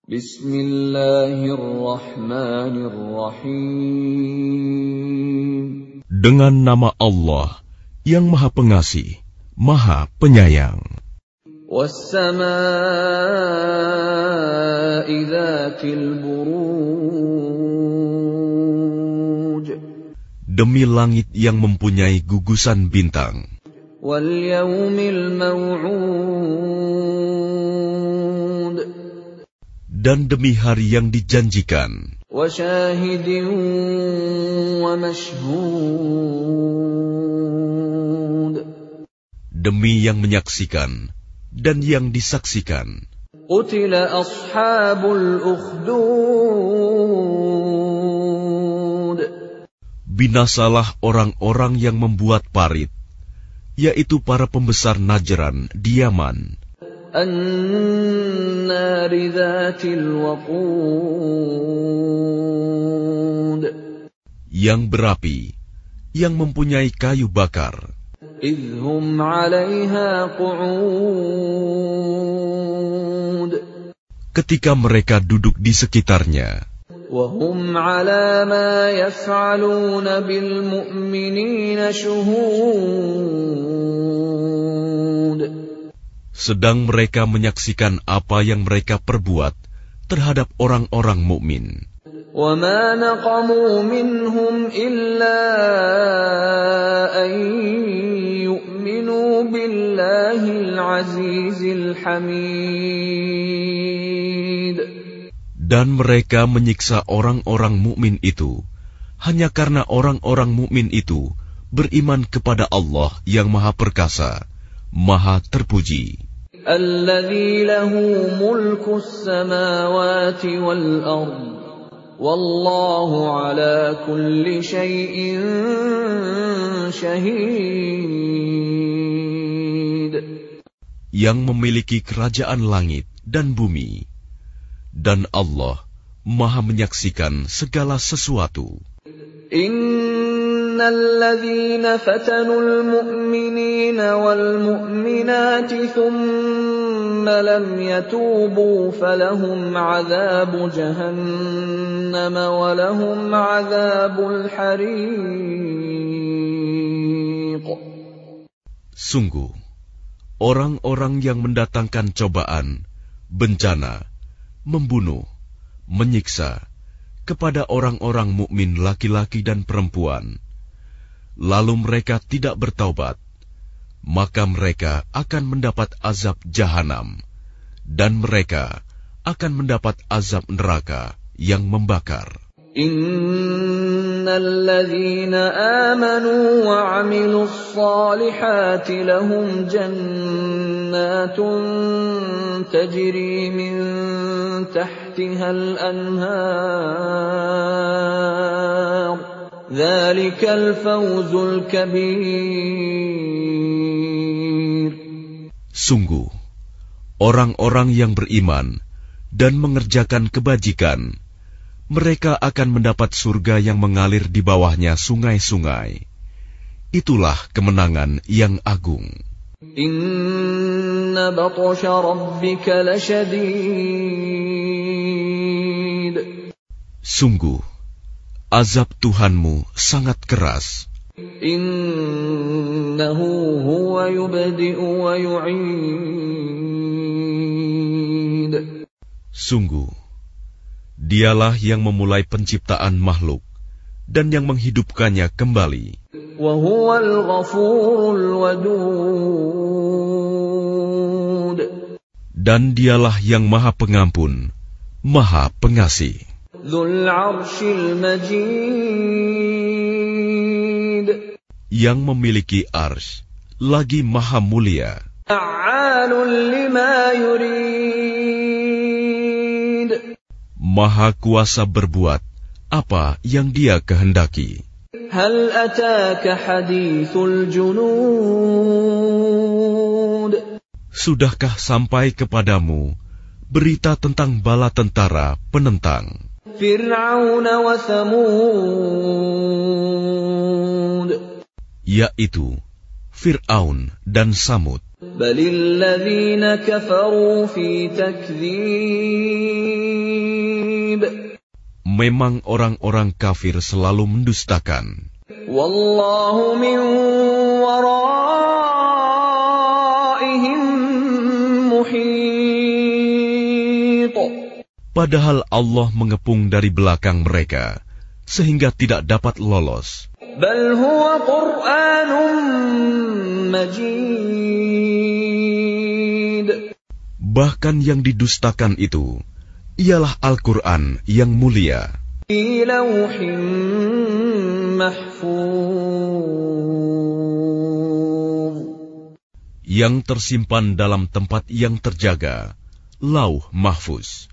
Bismillahirrahmanirrahim. Dengan nama Allah yang Maha Pengasih, Maha Penyayang. Was-samaa'i dzatil buruj. Demi langit yang mempunyai gugusan bintang. Wal yaumil maw'ud. Dan demi hari yang dijanjikan. Wa syahidin wa mashhud. Demi yang menyaksikan dan yang disaksikan. Qutila ashabul ukhdud. Binasalah orang-orang yang membuat parit, yaitu para pembesar Najran di Yaman. An-nari dzatil waqud. Yang berapi, yang mempunyai kayu bakar. Idhum 'alaiha qu'ud. Ketika mereka duduk di sekitarnya. Wa hum 'ala ma yaf'aluna bil mu'minina shuhud. Sedang mereka menyaksikan apa yang mereka perbuat terhadap orang-orang mukmin. Wa ma naqamu minhum illa an yu'minu billahil azizil hamid. Dan mereka menyiksa orang-orang mukmin itu hanya karena orang-orang mukmin itu beriman kepada Allah yang Maha Perkasa, Maha Terpuji. Alladzi lahu mulkus samawati wal ard. Wallahu ala kulli syai'in syahid. Yang memiliki kerajaan langit dan bumi. Dan Allah Maha menyaksikan segala sesuatu. Innalladzina fatanul mu'minina wal mu'minati thumma lam yatubu falahum 'adzabu jahannam wa lahum 'adzabul hariq. Sungguh, orang-orang yang mendatangkan cobaan, bencana, membunuh, menyiksa kepada orang-orang mukmin laki-laki dan perempuan, lalu mereka tidak bertaubat, maka mereka akan mendapat azab jahanam, dan mereka akan mendapat azab neraka yang membakar. Innalladzina amanu wa 'amilus shalihati lahum jannatun tajri min tahtihal anhar. Dzalikal fawzul kabir. Sungguh, orang-orang yang beriman dan mengerjakan kebajikan, mereka akan mendapat surga yang mengalir di bawahnya sungai-sungai. Itulah kemenangan yang agung. Inna batsha rabbika lasyadid. Sungguh, azab Tuhanmu sangat keras. Innahu huwa yubdi'u wa yu'id. Sungguh, Dialah yang memulai penciptaan makhluk dan yang menghidupkannya kembali. Wa huwal ghafurul wadud. Dan dialah yang Maha Pengampun, Maha Pengasih. Dzul 'arsyil majid. Yang memiliki arsy, lagi Maha Mulia. Fa'alun lima yurid. Maha kuasa berbuat apa yang Dia kehendaki. Hal ataka hadithul junud. Sudahkah sampai kepadamu berita tentang bala tentara penentang Fir'aun wa Thamud, yaitu Fir'aun dan Samud. Balil ladzina kafaru fi takdzib. memang orang-orang kafir selalu mendustakan. Wallahu min waraihim muhit. Padahal Allah mengepung dari belakang mereka, sehingga tidak dapat lolos. Bal huwa Qur'anun Majid. Bahkan yang didustakan itu ialah Al-Quran yang mulia. Fi lawhin mahfuz. Yang tersimpan dalam tempat yang terjaga, Lauh Mahfuz.